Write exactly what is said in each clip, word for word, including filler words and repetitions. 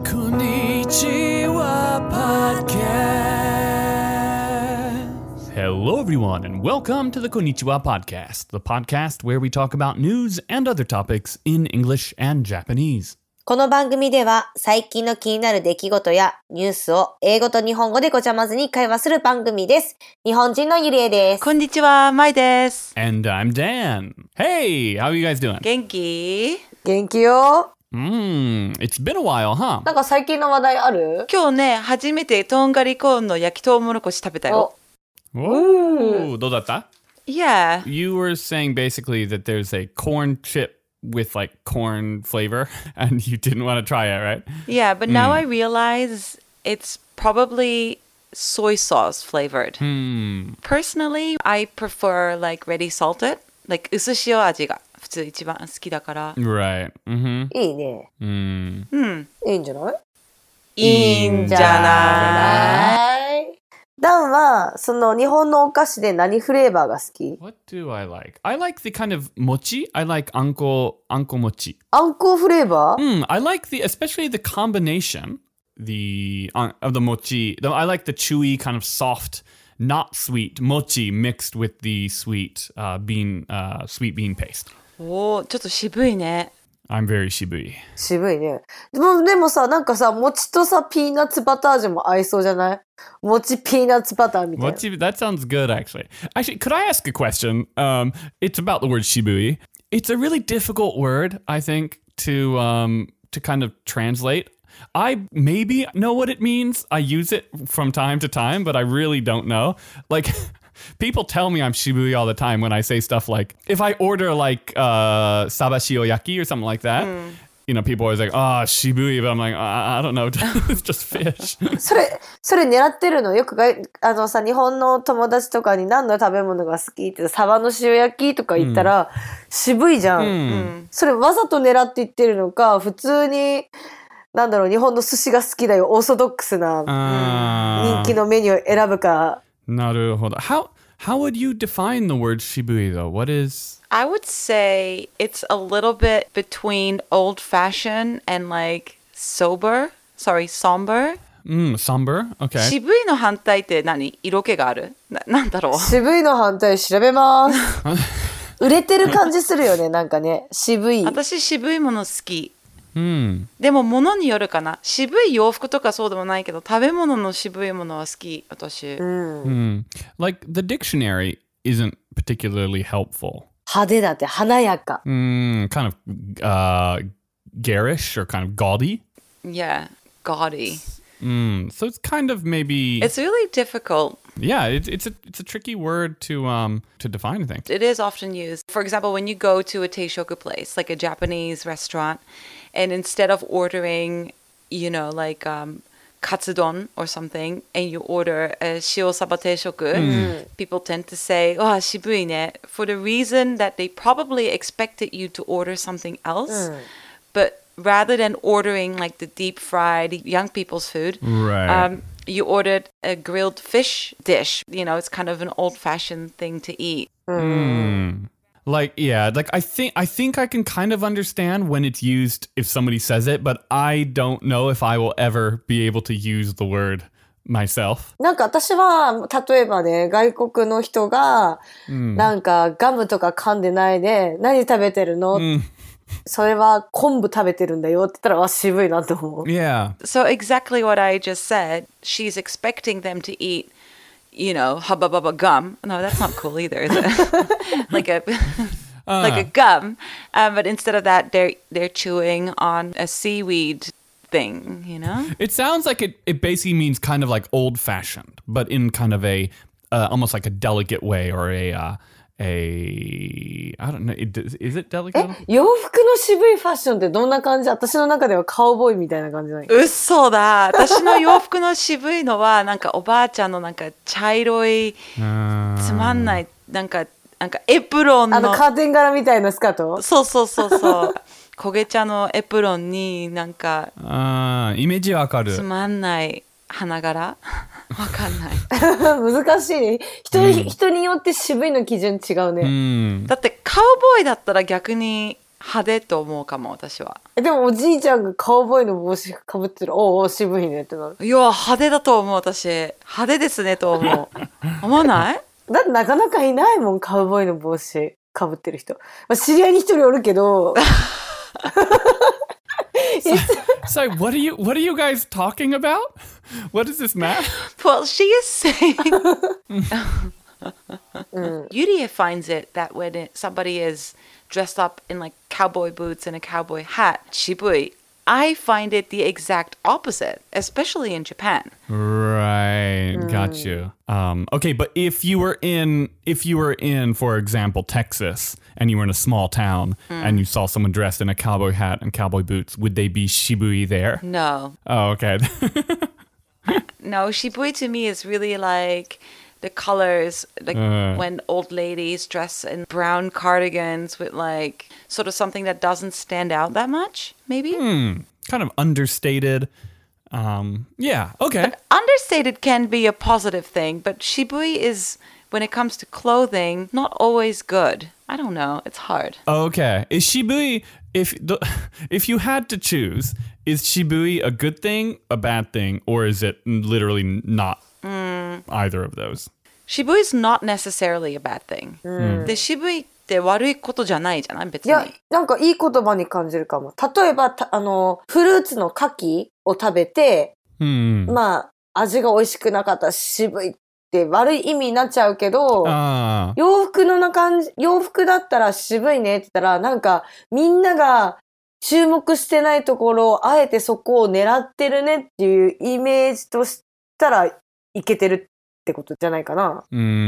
Konnichiwa Podcast. Hello, everyone, and welcome to the Konnichiwa Podcast, the podcast where we talk about news and other topics in English and Japanese. この番組では最近の気になる出来事やニュースを英語と日本語でごちゃまずに会話する番組です。日本人のゆりえです。 こんにちは、まいです。 And I'm Dan. Hey, how are you guys doing? 元気？ 元気よ。 Mmm, it's been a while, huh? なんか最近の話題ある？ 今日ね、初めてとんがりコーンの焼きとうもろこし食べたよ。 Ooh, どうだった？ Yeah. You were saying basically that there's a corn chip with like corn flavor and you didn't want to try it, right? Yeah, but now I realize it's probably soy sauce flavored. Hmm. Personally, I prefer like ready salted, like 薄塩味が普通一番好きだから。 Right. Mm-hmm. いいね。 Mm. うん。 いいんじゃない？ いいんじゃない？ ダンはその日本のお菓子で何フレーバーが好き？ What do I like? I like the kind of mochi. I like anko anko mochi. あんこフレーバー？ Mm, I like the especially the combination the uh, of the mochi. The, I like the chewy kind of soft, not sweet mochi mixed with the sweet uh, bean uh, sweet bean paste. おー、ちょっと渋いね。 I'm very shibui. 渋いね。でも、でもさ、なんかさ、餅とさ、ピーナッツバター味も合いそうじゃない？餅ピーナッツバターみたいな。 Mochi, that sounds good, actually. Actually, could I ask a question? Um, it's about the word shibui. It's a really difficult word, I think, to um, to kind of translate. I maybe know what it means. I use it from time to time, but I really don't know. Like, people tell me I'm shibui all the time when I say stuff like, if I order like uh, sabashiyaki or something like that, mm. you know, people are always like, oh, shibui, but I'm like, I, I don't know, it's just fish. それ、それ狙ってるの？よくがあのさ、日本の友達とかに何の食べ物が好きってサバの塩焼きとか言ったら、うん、渋いじゃん、うん。それわざと狙って言ってるのか、普通になんだろう、日本の寿司が好きだよ、オーソドックスな人気のメニューを選ぶか。 なるほど。How, how would you define the word shibui though? What is... I would say it's a little bit between old-fashioned and like sober. Sorry, somber. Mm, somber? Okay. 渋いの反対って何？色気がある？な、なんだろう？ 渋いの反対調べます。売れてる感じするよね、なんかね。渋い。 私渋いもの好き。 うん、 でも物によるかな。渋い洋服とかそうでもないけど、食べ物の渋いものは好き、私。 うん。 うん。Like, the dictionary isn't particularly helpful. 派手だって、華やか。 Mm, kind of uh, garish or kind of gaudy. Yeah, gaudy. Mm, so it's kind of maybe... It's really difficult. Yeah, it, it's a it's a tricky word to um to define, I think. It is often used. For example, when you go to a teishoku place, like a Japanese restaurant, and instead of ordering, you know, like um, katsudon or something, and you order a shio saba teishoku, mm. people tend to say, oh, shibui ne, for the reason that they probably expected you to order something else, mm. but rather than ordering like the deep fried young people's food, right. um, you ordered a grilled fish dish. You know, it's kind of an old-fashioned thing to eat. Mm. Like, yeah, like I think I think I can kind of understand when it's used if somebody says it, but I don't know if I will ever be able to use the word myself. なんか私は例えばね、外国の人が、うん、なんかガムとか噛んでないで、何食べてるの？うん、それは昆布食べてるんだよって言ったら、わ、渋いなって思う。 Yeah. So exactly what I just said. She's expecting them to eat, you know, hubba bubba gum. No, that's not cool either, is it? like a uh. like a gum. Um, but instead of that, they're they're chewing on a seaweed thing, you know? It sounds like it, it basically means kind of like old-fashioned, but in kind of a, uh, almost like a delicate way or a... Uh, A, I don't know, is it delicate? え、洋服の渋いファッションってどんな感じ？私の中ではカウボーイみたいな感じない？ 嘘だ。私の洋服の渋いのはなんかおばあちゃんのなんか茶色いつまんないなんかなんかエプロンのあのカーテン柄みたいなスカート？ そうそうそうそう焦げ茶のエプロンになんかあイメージわかる。 つまんない花柄わかんない難しいね 人,、うん、人によって渋いの基準違うね、 うん、 だってカウボーイだったら逆に派手と思うかも、私は。 えでもおじいちゃんがカウボーイの帽子かぶってる。おうおう渋いねってなる。 いや、派手だと思う、私。派手ですねと思う。思わない？ だってなかなかいないもん、カウボーイの帽子かぶってる人。まあ、知り合いに一人おるけど。 So what are you what are you guys talking about? What is this math? Well, she is saying Yurie finds it that when it, somebody is dressed up in like cowboy boots and a cowboy hat, shibui, I find it the exact opposite, especially in Japan. Right, got you. Um, okay, but if you were in, if you were in, for example, Texas, and you were in a small town, and you saw someone dressed in a cowboy hat and cowboy boots, would they be shibui there? No. Oh, okay. No, shibui to me is really like the colors, like Uh. when old ladies dress in brown cardigans with like sort of something that doesn't stand out that much, maybe? Kind of understated. Um, yeah, okay. Understated can be a positive thing, but shibui is, when it comes to clothing, not always good. I don't know. It's hard. Okay. Is shibui, if the, if you had to choose, is shibui a good thing, a bad thing, or is it literally not either of those? Shibui is not necessarily a bad thing. で、shibuiって悪いことじゃないじゃない別に。 いや、なんかいい言葉に感じるかも。例えば、たあの、フルーツの柿を食べて、 Hmm. まあ、味が美味しくなかったら渋いって悪い意味になっちゃうけど、 Ah. 洋服のな感じ、洋服だったら渋いねって言ったら、なんかみんなが注目してないところをあえてそこを狙ってるねっていうイメージとしたらいけてるってことじゃないかな。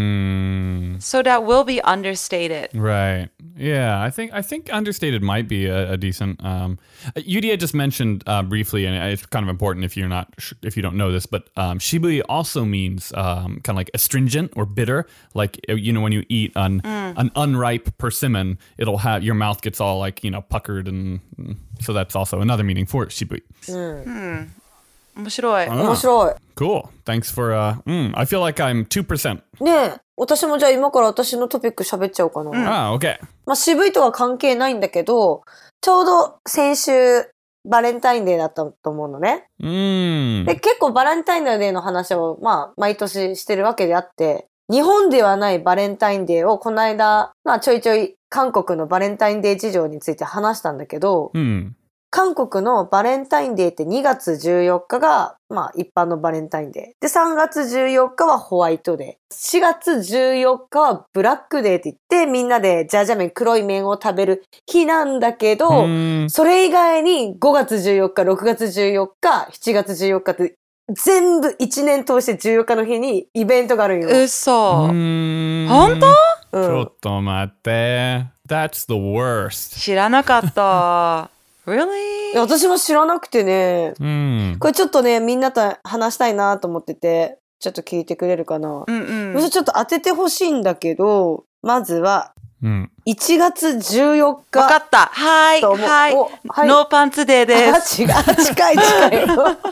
Mm, So that will be understated. right. Yeah, I think I think understated might be a, a decent. Um, Yudia just mentioned uh, briefly, and it's kind of important if you're not sh- if you don't know this, but um, shibui also means um, kind of like astringent or bitter. Like you know when you eat an an unripe persimmon, it'll have your mouth gets all like you know puckered, and so that's also another meaning for shibui. 面白い。 面白い。 Cool. Thanks for. Uh, mm, I feel like I'm two percent. ねえ、私もじゃあ今から私のトピック喋っちゃおうかな。 Ah, okay. まあ渋いとは関係ないんだけど、ちょうど先週バレンタインデーだったと思うのね。 Mm. で、結構バレンタインデーの話をまあ毎年してるわけであって、日本ではないバレンタインデーをこの間、まあちょいちょい韓国のバレンタインデー事情について話したんだけど、 Hmm. 韓国のバレンタインデーってにがつじゅうよっかが、まあ一般のバレンタインデー。で、さんがつじゅうよっかはホワイトデー。しがつじゅうよっかはブラックデーって言って、みんなでジャージャー麺、黒い麺を食べる日なんだけど、 Hmm. それ以外にごがつじゅうよっか、ろくがつじゅうよっか、しちがつじゅうよっかって全部いちねん通してじゅうよっかの日にイベントがあるんよ。 嘘。 Mm. 本当？ うん。 ちょっと待って。That's the worst. 知らなかった。Really? いや私も知らなくてね、 Mm. これちょっとね、みんなと話したいなと思ってて、ちょっと聞いてくれるかな。 うんうん。 もしちょっと当ててほしいんだけど、まずは Mm. いちがつじゅうよっか。 わかった。はい。 と思うはい。 おはいノーパンツデーであ、 す。 違う、近い近い。なんか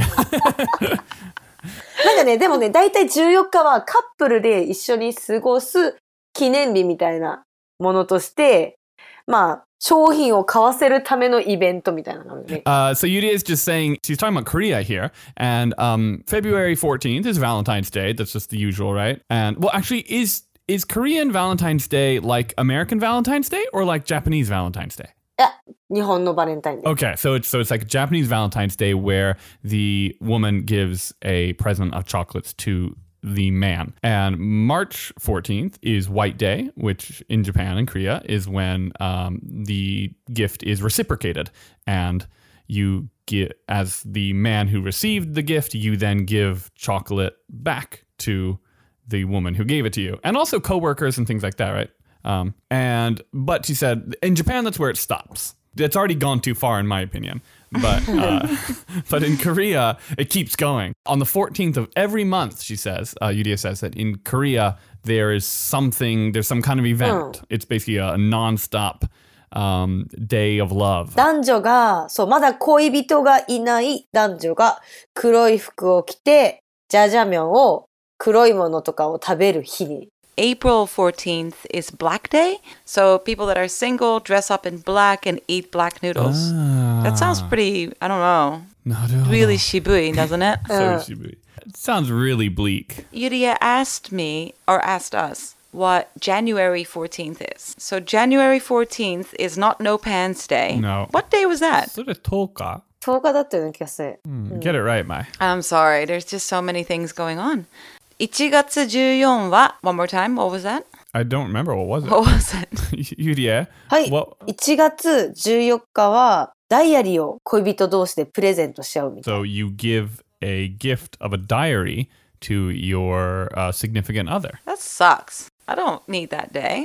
Yeah. ね、でもね、だいたいじゅうよっかはカップルで一緒に過ごす記念日みたいなものとして、まあ、商品を買わせるためのイベントみたいなのね。 Uh, so Yudia is just saying she's talking about Korea here, and um, February fourteenth is Valentine's Day. That's just the usual, right? And well, actually, is is Korean Valentine's Day like American Valentine's Day or like Japanese Valentine's Day? いや、日本のバレンタインデー。 Okay, so it's so it's like Japanese Valentine's Day where the woman gives a present of chocolates to the man. And March fourteenth is White Day, which in Japan and Korea is when um, the gift is reciprocated. And you get, as the man who received the gift, you then give chocolate back to the woman who gave it to you. And also coworkers and things like that, right? Um, and, but she said, in Japan, that's where it stops. It's already gone too far, in my opinion. But uh, but in Korea, it keeps going. On the fourteenth of every month, she says, uh, Yudia says that in Korea, there is something, there's some kind of event. It's basically a, a non-stop um, day of love. 男女が、そう、まだ恋人がいない男女が黒い服を着て、ジャージャー麺を黒いものとかを食べる日に。 April fourteenth is Black Day. So people that are single dress up in black and eat black noodles. That sounds pretty, I don't know, なるほど。 really shibui, doesn't it? So shibui. It sounds really bleak. Yuria asked me, or asked us, what January fourteenth is. So January fourteenth is not No Pants Day. No. What day was that? それとおか？ とおかだったような気がする。 Get it right, Mai. I'm sorry, there's just so many things going on. いちがつじゅうよっかは one more time, what was that? I don't remember. What was it? What was it? Yuria? はい。 What? いちがつじゅうよっかはダイアリーを恋人同士でプレゼントし合うみたい So you give a gift of a diary to your uh, significant other. That sucks. I don't need that day.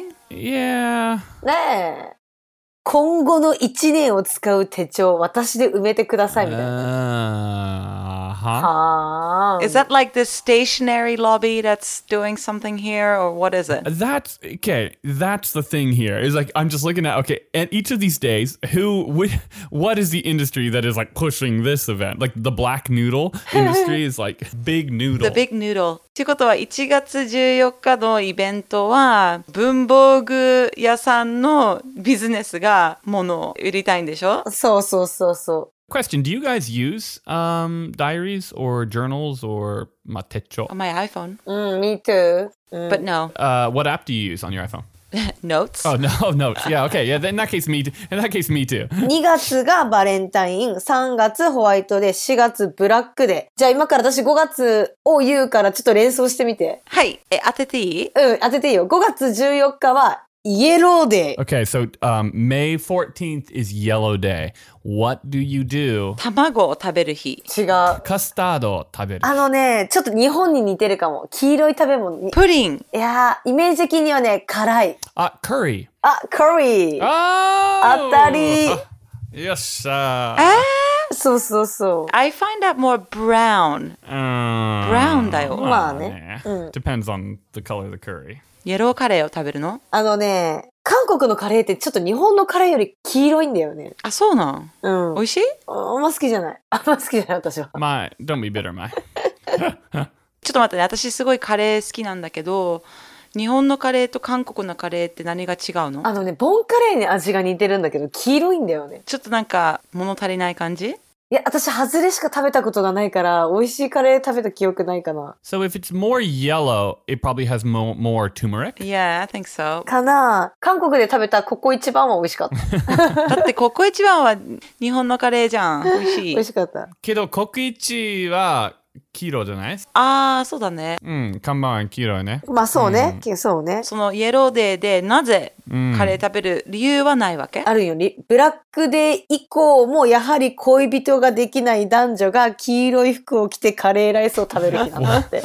Yeah. な。ねえ。今後のいちねんを使う手帳、私で埋めてくださいみたいな。 Uh-huh. はあ。 Is that like the stationery lobby that's doing something here, or what is it? That's okay. That's the thing here. Is like I'm just looking at okay, and each of these days, who, wh- what is the industry that is like pushing this event? Like the black noodle industry is like big noodle. The big noodle. ということはいちがつじゅうよっかのイベントは文房具屋さんのビジネスが物を売りたいんでしょ？ そうそうそうそ Question: Do you guys use um, diaries or journals or matecho? On my iPhone. う。うん、me too。うん、 But no. Uh, what app do you use on your iPhone? Notes? Oh no, notes. Yeah, okay. Yeah, in that case, me. Too. In that case, me too. にがつがバレンタイン、さんがつホワイトデー、しがつブラックデー。じゃあ今から私ごがつを言うからちょっと連想してみて。 はい。え、当てていい？ うん、当てていいよ。ごがつじゅうよっかはイエローデー。 Okay, so um, May fourteenth is Yellow Day. What do you do? 卵を食べる日。 違う。 Custado 食べる。 あのね、ちょっと日本に似てるかも。黄色い食べ物に。 プリン。 いやー、イメージ的にはね、辛い。 あ、curry. あ、カリー。 Oh! 当たり。 よっしゃそうそうそう。 I find that more brown. ー。 brown だよ。 まあね。 Depends on the color of the curry. イエローカレーを食べるの？ あのね、韓国のカレーってちょっと日本のカレーより黄色いんだよね。 あ、そうなん？ うん。 美味しい？ あんま好きじゃない。あんま好きじゃない、私は。 My, don't be bitter, my. ちょっと待ってね。私すごいカレー好きなんだけど、日本のカレーと韓国のカレーって何が違うの？ あのね、ボンカレーに味が似てるんだけど、黄色いんだよね。 ちょっとなんか物足りない感じ？ いや、私、ハズレしか食べたことがないから、美味しいカレー食べた記憶ないかな。 So if it's more yellow, it probably has mo- more turmeric. Yeah, I think so. かな韓国で食べたココ一番は美味しかった。 だってココイチ番は日本のカレーじゃん。美味しい。 美味しかった。 けど、国一は黄色じゃない？ ああ、そうだね。 うん、看板は黄色いね。 まあそうね、そうね。 そのイエローデーでなぜカレー食べる理由はないわけ？ あるより、ブラックデー以降もやはり恋人ができない男女が黄色い服を着てカレーライスを食べる日なんだって。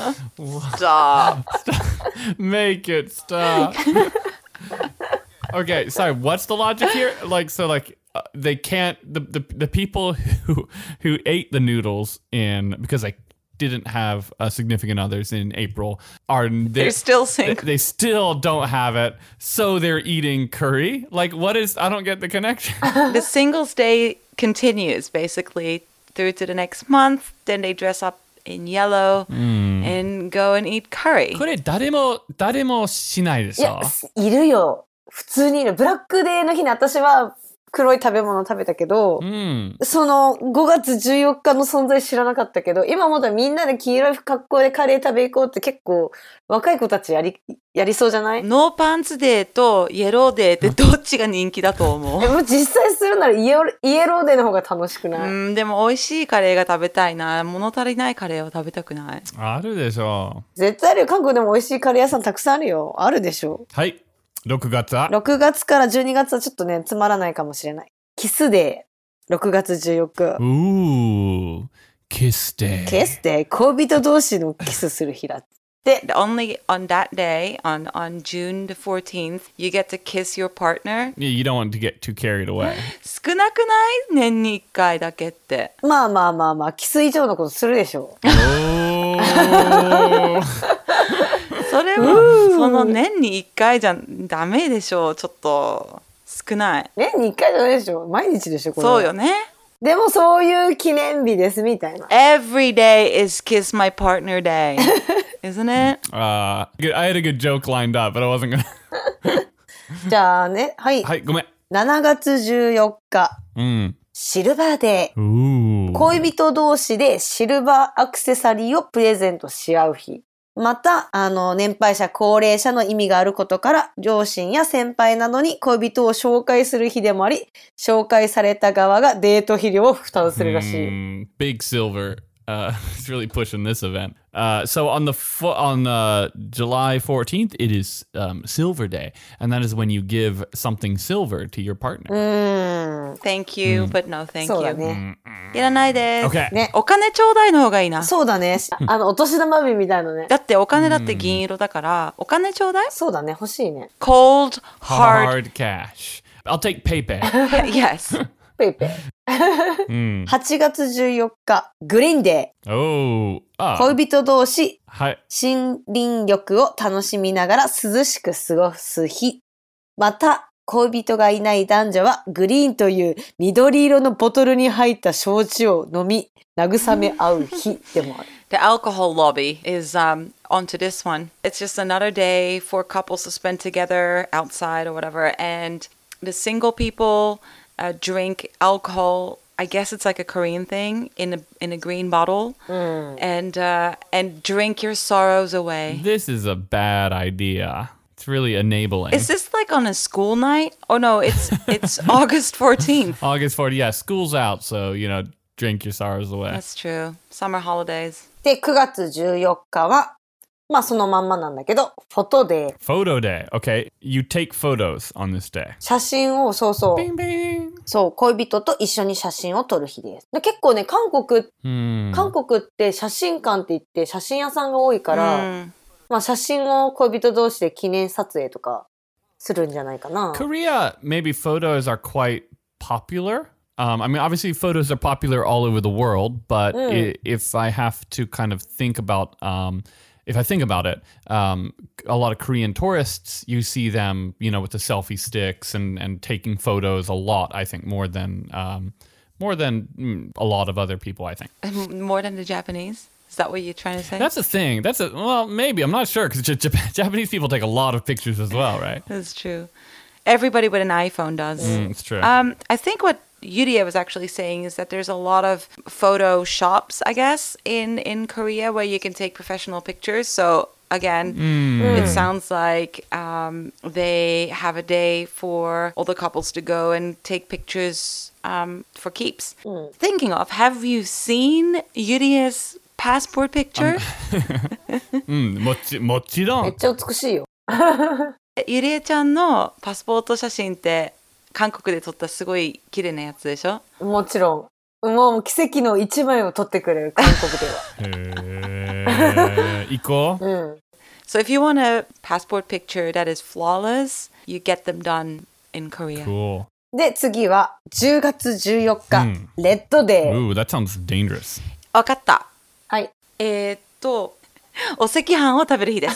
Stop. Make it stop. Okay, sorry. What's the logic here? Like, so, like, uh, they can't. The, the the people who who ate the noodles in because they didn't have uh, significant others in April are they, They're still they, single. they still don't have it, so they're eating curry. Like, what is? I don't get the connection. The Singles Day continues basically through to the next month. Then they dress up in yellow and go and eat curry. これ誰も誰もしないでしょいや、いるよ。普通にいる。ブラックデーの日に私は黒い食べ物を食べたけど、 うん。 そのごがつじゅうよっかの存在知らなかったけど、今もだみんなで黄色い格好でカレー食べ行こうって結構若い子たちやり、やりそうじゃない？ ノーパンツデーとイエローデーってどっちが人気だと思う？ え、もう実際するならイエロイエローデーの方が楽しくない？ うん、でも美味しいカレーが食べたいな。物足りないカレーを食べたくない。 あるでしょ絶対あるよ。韓国でも美味しいカレー屋さんたくさんあるよ。あるでしょ。 はい。ろくがつはろくがつからじゅうにがつはちょっとね、つまらないかもしれない。キスデー。ろくがつじゅうよっか。 うー、キスデー。 キスデー。恋人同士のキスする日だって。 Only on that day, on, on June the fourteenth, you get to kiss your partner. Yeah, you don't want to get too carried away. 少なくない？年にいっかいだけって。 まあまあまあまあ、キス以上のことするでしょ。 おー。 それもその年にいっかいじゃダメでしょう。ちょっと少ない。 年にいっかいじゃないでしょ。毎日でしょ、これは。 そうよね。 でもそういう記念日ですみたいな。 Every day is kiss my partner day. isn't it? Uh, good- I had a good joke lined up, but I wasn't gonna. じゃあね、はい。 はい、ごめん。 しちがつじゅうよっか、 うん。 シルバーデー。 Ooh. 恋人同士でシルバーアクセサリーをプレゼントし合う日。また、あの、年配者、高齢者の意味があることから、両親や先輩などに恋人を紹介する日でもあり、紹介された側がデート費用を負担するらしい。 Mm, big Silver. Uh, it's really pushing this event. Uh, so on the fo- on uh, July fourteenth, it is um, Silver Day, and that is when you give something silver to your partner. うーん。 Thank you, but no thank そうだ you. ね。 いらないです。 Okay. ね。 お金ちょうだいの方がいいな。 そうだね。あの、お年玉日みたいなね。 だってお金だって銀色だから、お金ちょうだいそうだね。欲しいね。 Cold, hard, Hard cash. I'll take PayPay. yes. ペイペイ。 うん。 はちがつじゅうよっか、グリーンデ Oh. ー。 Ah. 恋人同士、 はい。 森林浴を楽しみながら涼しく過ごす日。また、恋人がいない男女はグリーンという緑色のボトルに入った焼酎を飲み、慰め合う日でもある。 The alcohol lobby is um, onto this one. It's just another day for couples to spend together outside or whatever. And the single people uh, drink alcohol. I guess it's like a Korean thing in a in a green bottle, and uh, and drink your sorrows away. This is a bad idea. It's really enabling. Is this like on a school night? Oh no, it's it's August fourteenth. August fourteenth. Yeah, school's out, so you know, drink your sorrows away. That's true. Summer holidays. で、くがつじゅうよっかは、まあそのまんまなんだけど、フォトデー。 Photo day. Okay, you take photos on this day. 写真を、そうそう。 Bing bing. そう、恋人と一緒に写真を撮る日です。で結構ね、韓国、 Hmm. 韓国って写真館って言って写真屋さんが多いから、 Mm. まあ写真を恋人同士で記念撮影とかするんじゃないかな。 Korea, maybe photos are quite popular. Um, I mean, obviously, photos are popular all over the world, but I- if I have to kind of think about, um, if I think about it, um, a lot of Korean tourists, you see them, you know, with the selfie sticks and, and taking photos a lot, I think, more than um, more than mm, a lot of other people, I think. More than the Japanese? Is that what you're trying to say? That's the thing. That's a, well, maybe. I'm not sure because J- Jap- Japanese people take a lot of pictures as well, right? That's true. Everybody with an iPhone does. Mm, it's true. Um, I think what Yuria was actually saying is that there's a lot of photo shops, I guess, in, in Korea where you can take professional pictures. So again, it sounds like um, they have a day for all the couples to go and take pictures um, for keeps. Thinking of, have you seen Yuria's passport picture? うん、もち、もちろん。 めっちゃ美しいよ。 ゆりえちゃんのパスポート写真って韓国で撮ったすごい綺麗なやつでしょ？ もちろん。もう奇跡の一枚を撮ってくれる、韓国では。 へー行こう。 うん。 So if you want a passport picture that is flawless, you get them done in Korea. Cool. で、次はじゅうがつじゅうよっか、 うんレッドデー。 Ooh, that sounds dangerous. わかった。 はい。 えー、っと、お赤飯を食べる日です。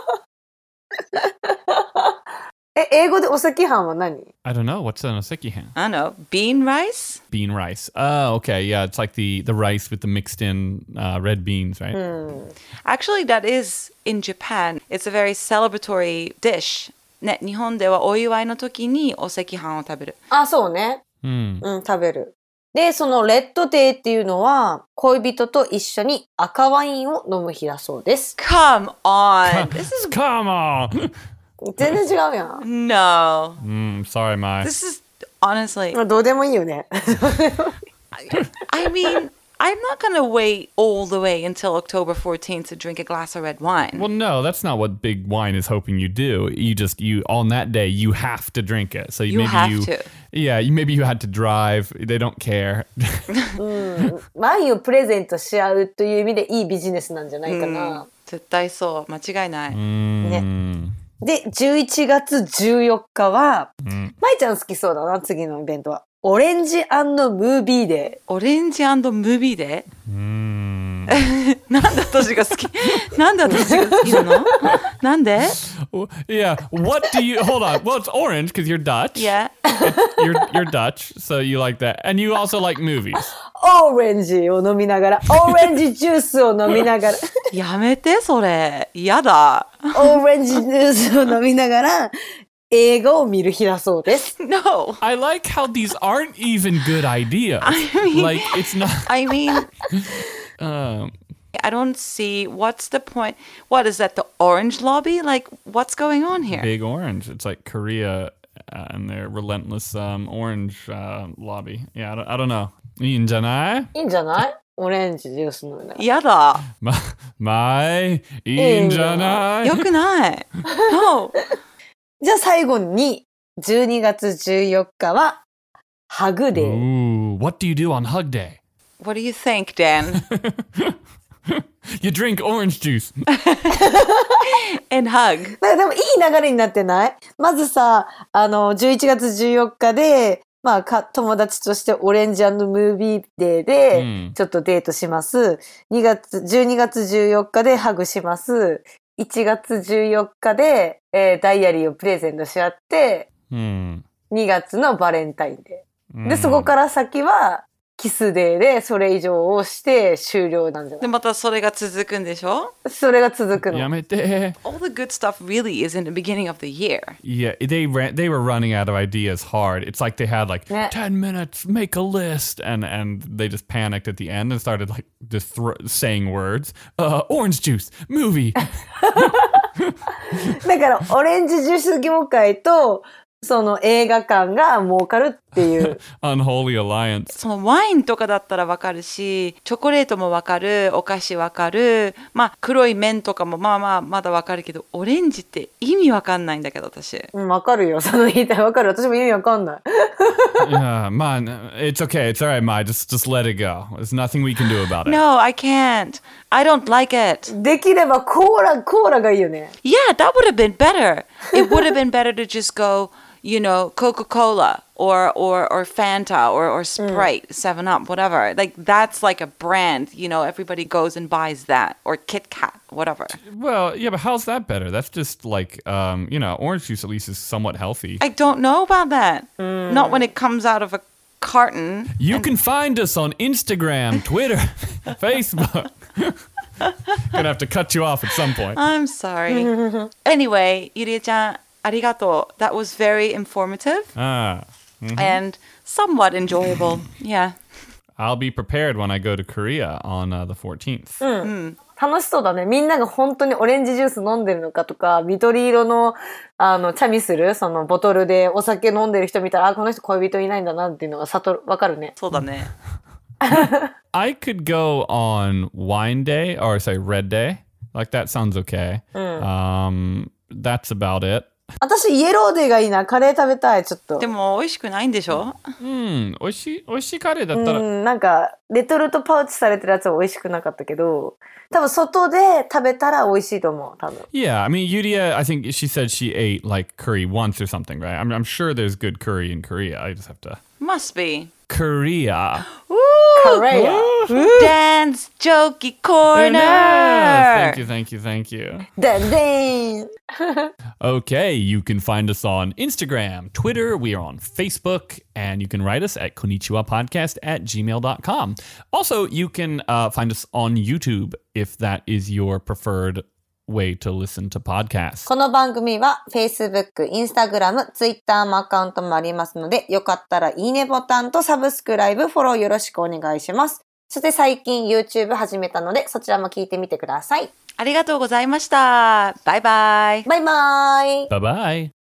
え、英語でお赤飯は何？ I don't know. What's an osekihan? I don't know, bean rice? Bean rice. Oh, okay. Yeah, it's like the, the rice with the mixed in uh, red beans, right? Actually, that is in Japan. It's a very celebratory dish. ね、日本ではお祝いの時にお赤飯を食べる。 あ、そうね。 Hmm. うん、食べる。で、そのレッドデーっていうのは、恋人と一緒に赤ワインを飲む日だそうです。 Come on! This is Come on. 全然違うやん。 no. mm, sorry, Mai. This is honestly. まあどうでもいいよね。 I mean, I'm not gonna wait all the way until October fourteenth to drink a glass of red wine. Well, no, that's not what big wine is hoping you do. You just you on that day you have to drink it. So You maybe have you, to. yeah, you maybe you had to drive. They don't care. ワインをプレゼントし合うという意味でいいビジネスなんじゃないかな。 絶対そう。間違いない。 Mm. で、じゅういちがつじゅうよっかは、まいちゃん好きそうだな、次のイベントは。オレンジ&ムービーデオレンジムービーで Mm. なんで私が好きなんで私が好きなのなんで Well, yeah. What do you hold on? Well, it's orange because you're Dutch. Yeah. You're you're Dutch, so you like that, and you also like movies. ー。 オレンジを飲みながら、オレンジジュースを飲みながら、 やめて、それ。やだ。 オレンジジュースを飲みながら、映画を見る日だそうです。 No. I like how these aren't even good ideas. I mean- like it's not. I mean, Um, I don't see what's the point. What is that, the orange lobby? Like, what's going on here? Big Orange. It's like Korea uh, and their relentless um, orange uh, lobby. Yeah, I don't, I don't know. いいんじゃない？ いいんじゃない？オレンジジュース飲みながら。 やだ。 ま、前、いいんじゃない？ よくない。No. じゃあ最後に、じゅうにがつじゅうよっかは、ハグデー。 Ooh, what do you do on Hug Day? What do you think, Dan? You drink orange juice. And hug. なんかでもいい流れになってない？まずさ、あの、じゅういちがつじゅうよっかで、まあか、友達としてオレンジ&ムービーデーでうん、 ちょっとデートします。にがつ、じゅうにがつじゅうよっかでハグします。いちがつじゅうよっかで、えーダイアリーをプレゼントし合って、 うん。 にがつのバレンタインデー。 うんで、そこから先は、キスデーでそれ以上をして終了なんじゃなで、 い？ またそれが続くんでしょ？ それが続くの。 やめて。 All the good stuff really is in the beginning of the year. Yeah, they ran, they were running out of ideas hard. It's like they had like Yeah. ten minutes, make a list, and and they just panicked at the end and started like just thro- saying words. Uh, orange juice, movie. だから、オレンジジュース業界と、その映画館が儲かるっていう。 Unholy alliance. そのワインとかだったらわかるし、チョコレートもわかる、お菓子わかる、まあ黒い麺とかもまあまあまだわかるけど、オレンジって意味わかんないんだけど私。 うん、わかるよ。その言いたいわかる。私も意味わかんない。 Yeah, man, it's okay. It's all right, Mai. Just just let it go. There's nothing we can do about it. No, I can't. I don't like it. できればコーラ、コーラがいいよね。 Yeah, that would have been better. It would have been better to just go, you know, Coca-Cola or or or Fanta or or Sprite, seven up, whatever. Like that's like a brand, you know, everybody goes and buys that or Kit Kat, whatever. Well, yeah, but how's that better? That's just like, um, you know, orange juice at least is somewhat healthy. I don't know about that. Not when it comes out of a carton. You can find us on Instagram, Twitter, Facebook. Gonna have to cut you off at some point. I'm sorry. Anyway, Yurie-chan, arigato. That was very informative Ah, and somewhat enjoyable. Yeah. I'll be prepared when I go to Korea on uh, the fourteenth. 楽しそうだね。みんなが本当にオレンジジュース飲んでるのかとか、緑色の、あの、チャミスル、そのボトルでお酒飲んでる人見たら、あ、この人恋人いないんだなっていうのがさと、わかるね。 そうだね。 I could go on wine day or say red day. Like that sounds okay. Um, that's about it. 私、イエローデーがいいな。カレー食べたい、ちょっとで。も美味しくないんでしょ？ うん、美味しい、美味しいカレーだったら、 うん、なんか、レトルトパウチされてるやつは美味しくなかったけど、多分外で食べたら美味しいと思う、多分。 Yeah, I mean, Yuria, I think she said she ate like curry once or something, right? I'm, I'm sure there's good curry in Korea. I just have to. Must be. Korea. Korea. Dance jokey corner. Thank you, thank you, thank you. でんでん。 Okay, you can find us on Instagram, Twitter, we are on Facebook, and you can write us at konnichiwapodcast at gmail dot com. Also, you can uh, find us on YouTube if that is your preferred way to listen to podcasts. この番組は Facebook、Instagram、Twitter もアカウントもありますので、よかったらいいねボタンとサブスクライブ、フォローよろしくお願いします。そして最近 YouTube 始めたので、そちらも聞いてみてください。 ありがとうございました。バイバイ。 バイバイ。 Bye bye.